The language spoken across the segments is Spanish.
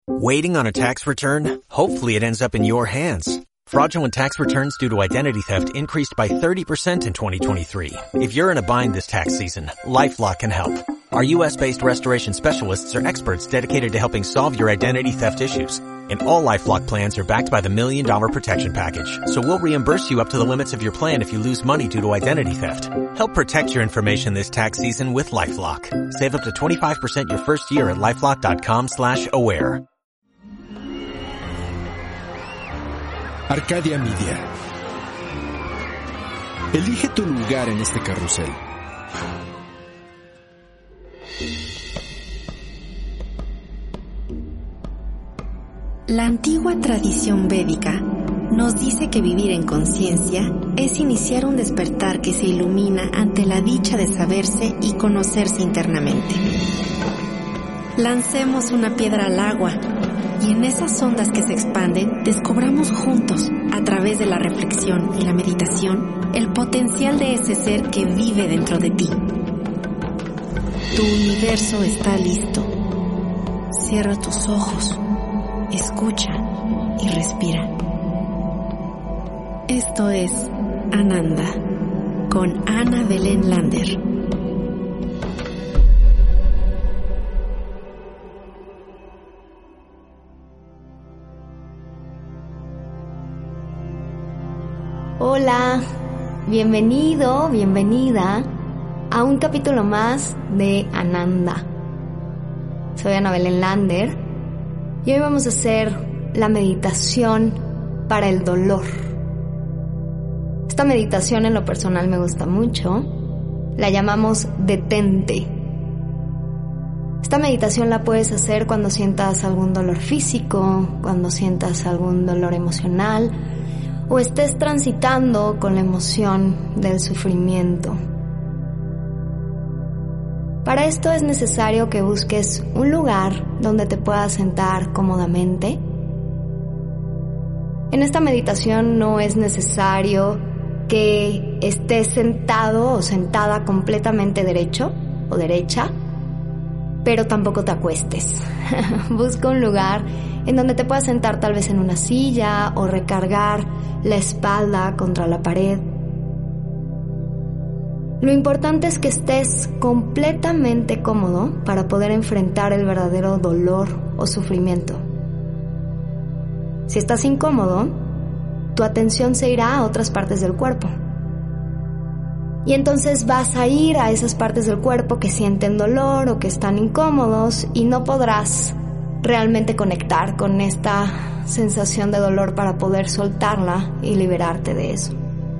Waiting on a tax return? Hopefully it ends up in your hands. Fraudulent tax returns due to identity theft increased by 30% in 2023. If you're in a bind this tax season, LifeLock can help. Our U.S.-based restoration specialists are experts dedicated to helping solve your identity theft issues. And all LifeLock plans are backed by the $1 Million Protection Package. So we'll reimburse you up to the limits of your plan if you lose money due to identity theft. Help protect your information this tax season with LifeLock. Save up to 25% your first year at LifeLock.com/aware. Arcadia Media. Elige tu lugar en este carrusel. La antigua tradición védica nos dice que vivir en conciencia es iniciar un despertar que se ilumina ante la dicha de saberse y conocerse internamente. Lancemos una piedra al agua y en esas ondas que se expanden descubramos juntos, a través de la reflexión y la meditación, el potencial de ese ser que vive dentro de ti. Tu universo está listo. Cierra tus ojos, escucha y respira. Esto es Ananda, con Ana Belén Lander. Hola, bienvenido, bienvenida a un capítulo más de Ananda. Soy Ana Belén Lander y hoy vamos a hacer la meditación para el dolor. Esta meditación en lo personal me gusta mucho, la llamamos detente. Esta meditación la puedes hacer cuando sientas algún dolor físico, cuando sientas algún dolor emocional, o estés transitando con la emoción del sufrimiento. Para esto es necesario que busques un lugar donde te puedas sentar cómodamente. En esta meditación no es necesario que estés sentado o sentada completamente derecho o derecha, pero tampoco te acuestes. Busca un lugar en donde te puedas sentar tal vez en una silla o recargar la espalda contra la pared. Lo importante es que estés completamente cómodo para poder enfrentar el verdadero dolor o sufrimiento. Si estás incómodo, tu atención se irá a otras partes del cuerpo. Y entonces vas a ir a esas partes del cuerpo que sienten dolor o que están incómodos y no podrás realmente conectar con esta sensación de dolor para poder soltarla y liberarte de eso.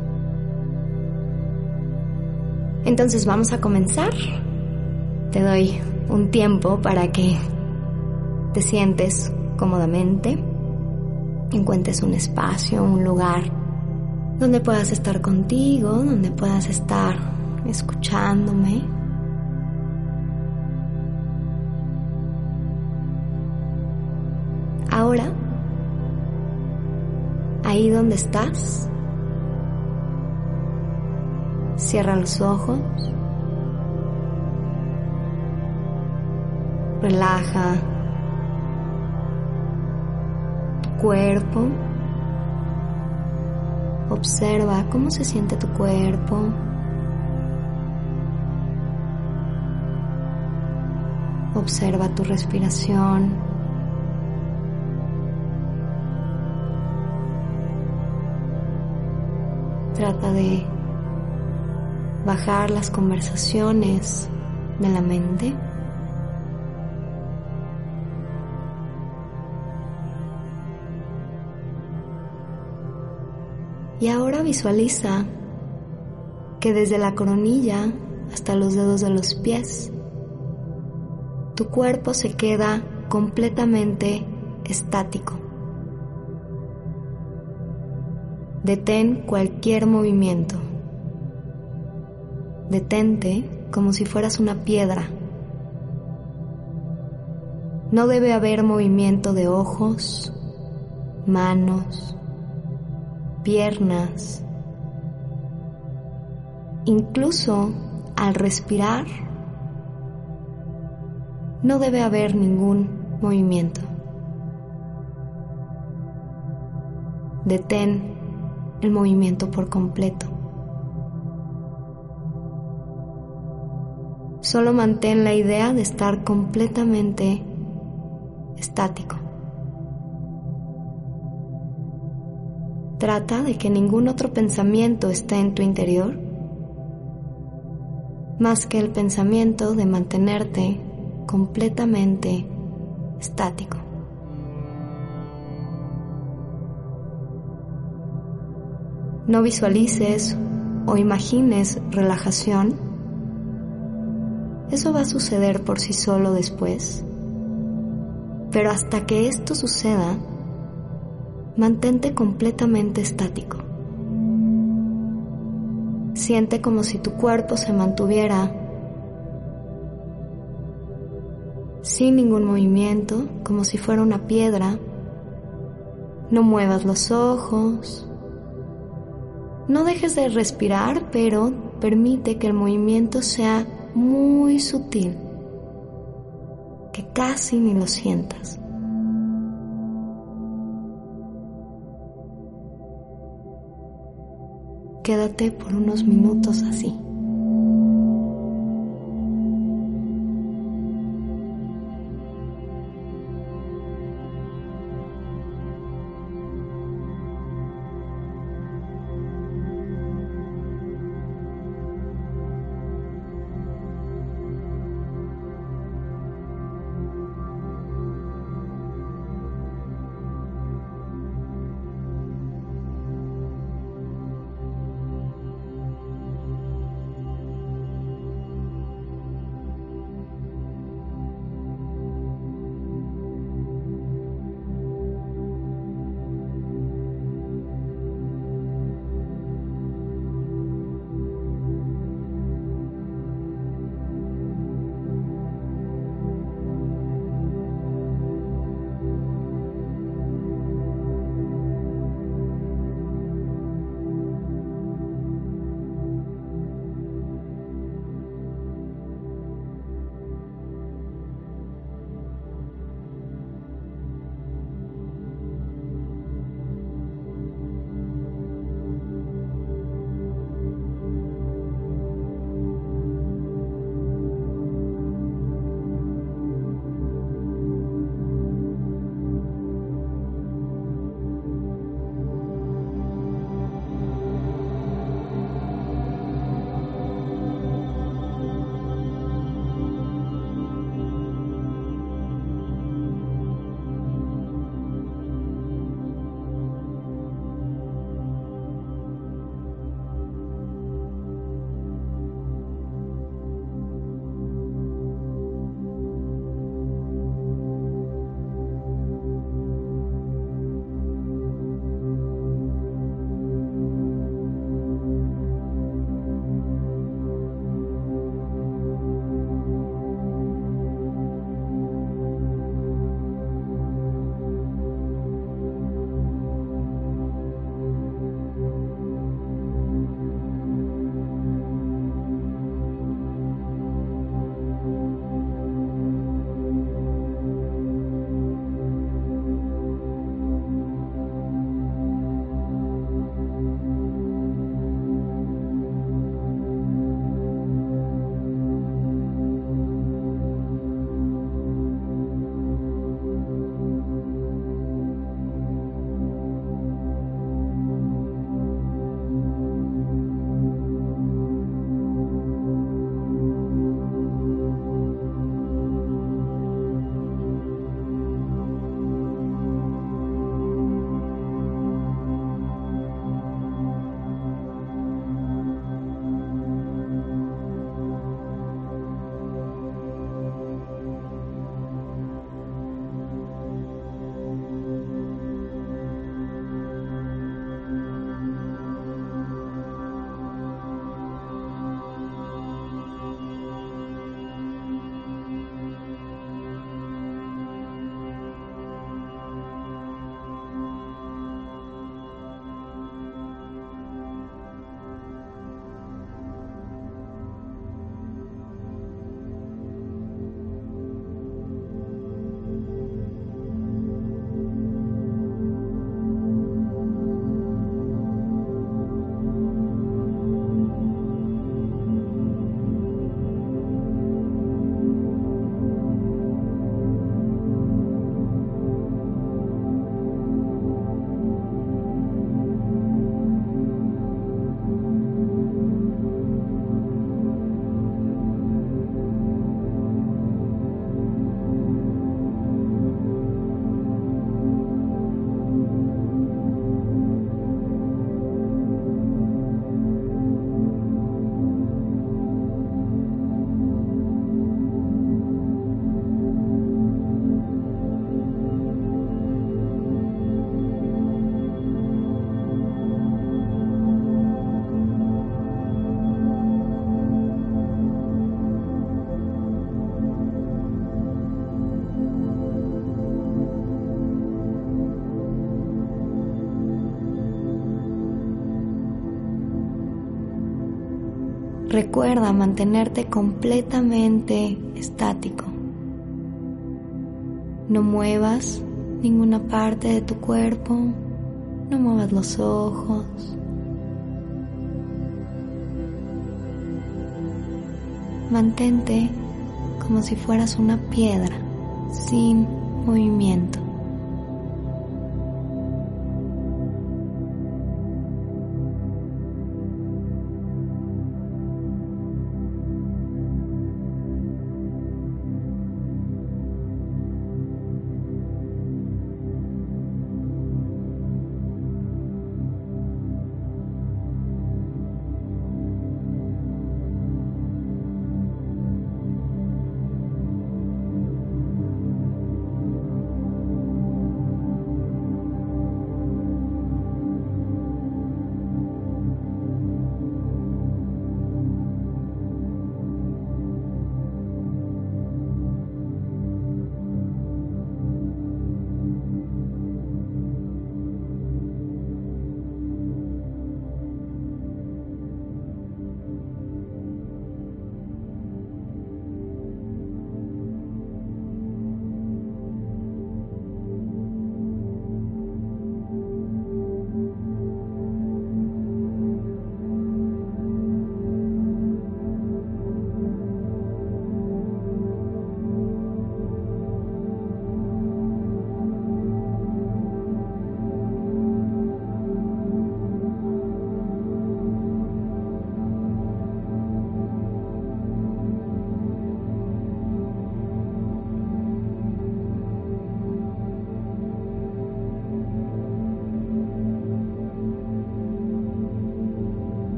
Entonces vamos a comenzar. Te doy un tiempo para que te sientes cómodamente, encuentres un espacio, un lugar donde puedas estar contigo, donde puedas estar escuchándome. Ahora, ahí donde estás, cierra los ojos, relaja tu cuerpo, observa cómo se siente tu cuerpo. Observa tu respiración. Trata de bajar las conversaciones de la mente. Y ahora visualiza que desde la coronilla hasta los dedos de los pies, tu cuerpo se queda completamente estático. Detén cualquier movimiento. Detente como si fueras una piedra. No debe haber movimiento de ojos, manos, piernas. Incluso al respirar, no debe haber ningún movimiento. detén el movimiento por completo. Solo mantén la idea de estar completamente estático. Trata de que ningún otro pensamiento esté en tu interior, más que el pensamiento de mantenerte completamente estático. No visualices o imagines relajación. Eso va a suceder por sí solo después. Pero hasta que esto suceda, mantente completamente estático. Siente como si tu cuerpo se mantuviera sin ningún movimiento, como si fuera una piedra. No muevas los ojos. No dejes de respirar, pero permite que el movimiento sea muy sutil, que casi ni lo sientas. Quédate por unos minutos así. Recuerda mantenerte completamente estático. No muevas ninguna parte de tu cuerpo, no muevas los ojos. Mantente como si fueras una piedra, sin movimiento.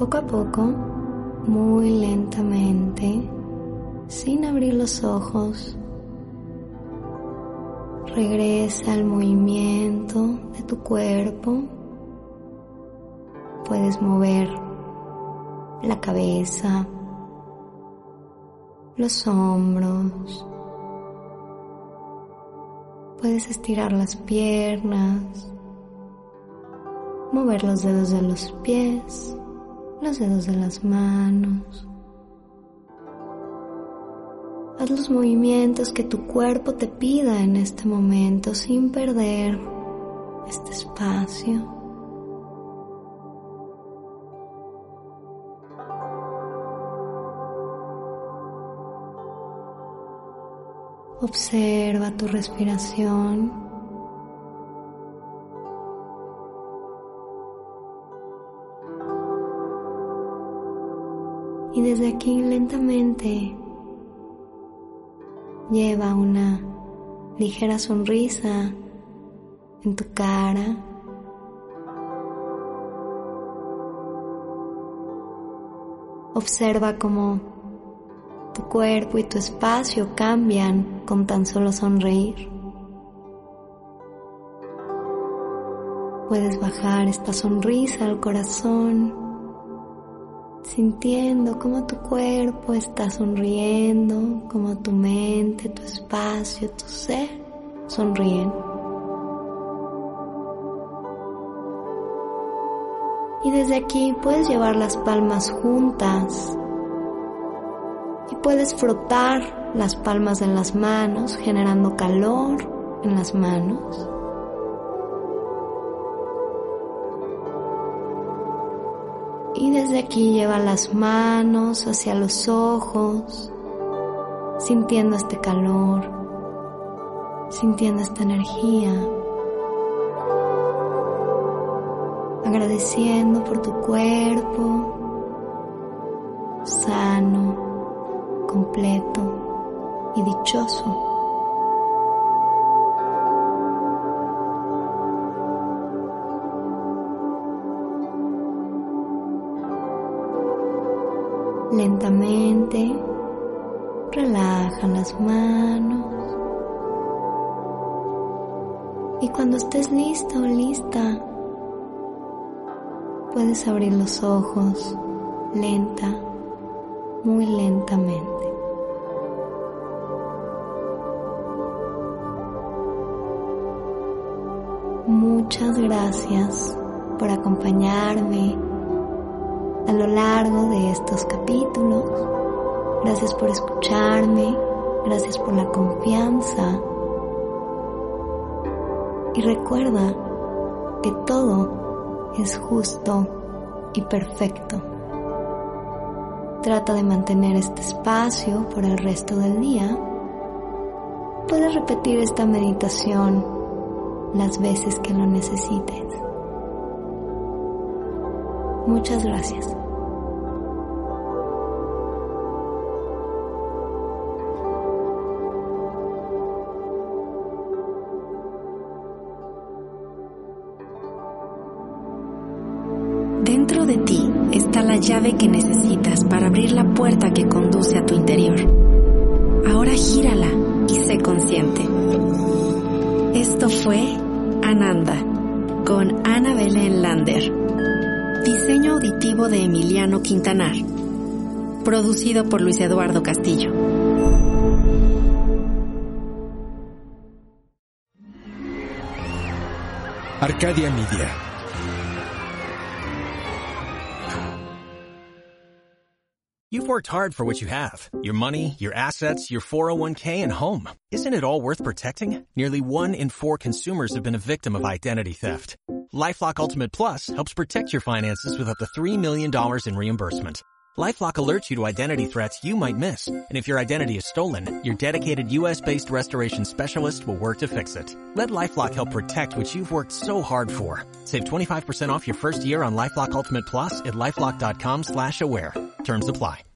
poco a poco, muy lentamente, sin abrir los ojos, regresa al movimiento de tu cuerpo. Puedes mover la cabeza, los hombros. Puedes estirar las piernas, mover los dedos de los pies, los dedos de las manos. Haz los movimientos que tu cuerpo te pida en este momento sin perder este espacio. Observa tu respiración. Y desde aquí lentamente lleva una ligera sonrisa en tu cara. Observa cómo tu cuerpo y tu espacio cambian con tan solo sonreír. Puedes bajar esta sonrisa al corazón, sintiendo cómo tu cuerpo está sonriendo, cómo tu mente, tu espacio, tu ser sonríen. Y desde aquí puedes llevar las palmas juntas y puedes frotar las palmas de las manos, generando calor en las manos. Y desde aquí lleva las manos hacia los ojos, sintiendo este calor, sintiendo esta energía, agradeciendo por tu cuerpo sano, completo y dichoso. Lentamente relaja las manos y cuando estés listo o lista puedes abrir los ojos muy lentamente. Muchas gracias por acompañarme a lo largo de estos capítulos. Gracias por escucharme, gracias por la confianza. Y recuerda que todo es justo y perfecto. Trata de mantener este espacio por el resto del día. Puedes repetir esta meditación las veces que lo necesites. Muchas gracias. Dentro de ti está la llave que necesitas para abrir la puerta que conduce a tu interior. Ahora gírala y sé consciente. Esto fue Ananda con Ana Belén Lander. Diseño auditivo de Emiliano Quintanar. Producido por Luis Eduardo Castillo. Arcadia Media. You've worked hard for what you have. Your money, your assets, your 401k, and home. Isn't it all worth protecting? Nearly 1 in 4 consumers have been a victim of identity theft. LifeLock Ultimate Plus helps protect your finances with up to $3 million in reimbursement. LifeLock alerts you to identity threats you might miss. And if your identity is stolen, your dedicated U.S.-based restoration specialist will work to fix it. Let LifeLock help protect what you've worked so hard for. Save 25% off your first year on LifeLock Ultimate Plus at LifeLock.com/aware. Terms apply.